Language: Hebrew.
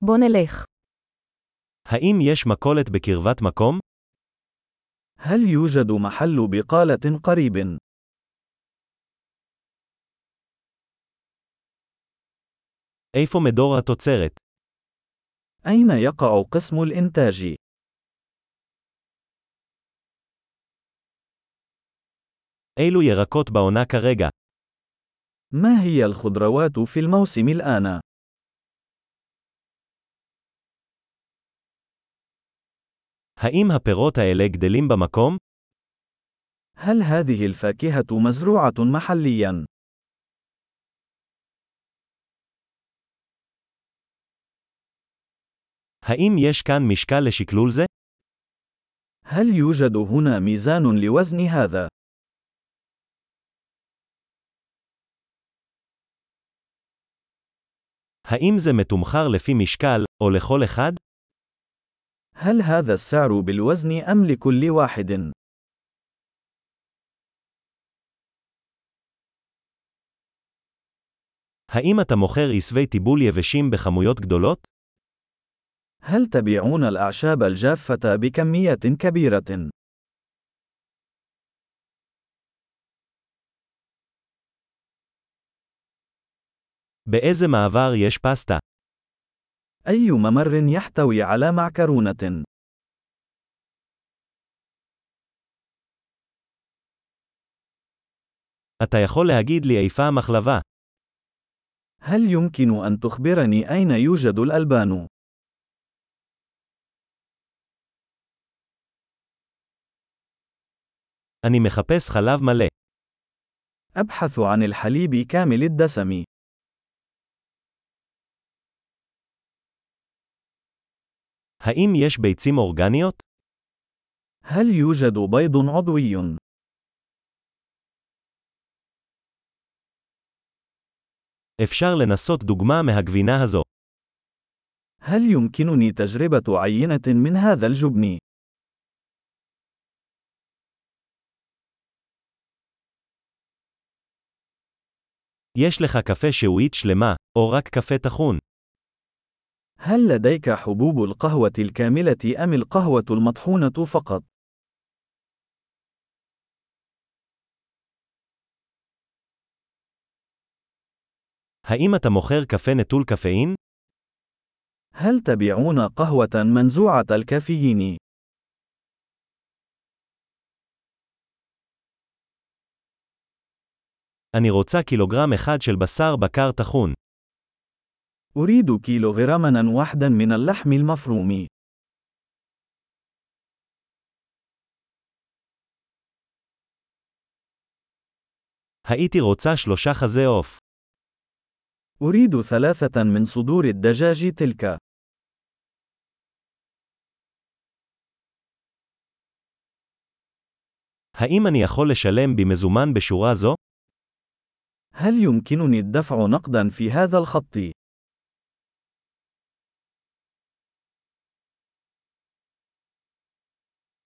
בוא נלך. האם יש מכולת בקרבת מקום? هل يوجد محل بقالة قريب؟ איפה מדור התוצרת? أين يقع قسم الإنتاج؟ אילו ירקות בעונה כרגע? ما هي الخضروات في الموسم الآن؟ האם הפירות האלה גדלים במקום? هل هذه الفاكهة مزروعة محلياً؟ האם יש כאן משקל לשקלול זה? هل يوجد هنا ميزان لوزن هذا؟ האם זה מתומחר לפי משקל, או לכל אחד? هل هذا السعر بالوزن أم لكل واحد؟ האם אתה מוכר עשבי טיבול יבשים בכמויות גדולות? هل تبيعون الأعشاب الجافة بكميات كبيرة؟ באיזה מעבר יש פסטה? أي ممر يحتوي على معكرونة؟ אתה יכול להגיד לי איפה המחלבה? هل يمكن أن تخبرني أين يوجد الألبان؟ אני מחפש חלב מלא. أبحث عن الحليب كامل الدسم. האם יש ביצים אורגניות? هل يوجد بيض عضوي؟ אפשר לנסות דוגמה מהגבינה הזו. هل يمكنني تجربة عينة من هذا الجبن؟ יש לך קפה שעועית שלמה, או רק קפה טחון? هل لديك حبوب القهوة الكاملة أم القهوة المطحونة فقط؟ האם אתה מוכר קפה נטול קפאין? هل تبيعون قهوة منزوعة الكافيين؟ אני רוצה קילוגרם אחד של בשר בקר טחון. أريد كيلوغراما واحدا من اللحم المفروم. הייתי רוצה 3 חזה עוף. أريد 3 من صدور الدجاج تلك. האם אני יכול לשלם במזומן בשורה זו? هل يمكنني الدفع نقدا في هذا الخط؟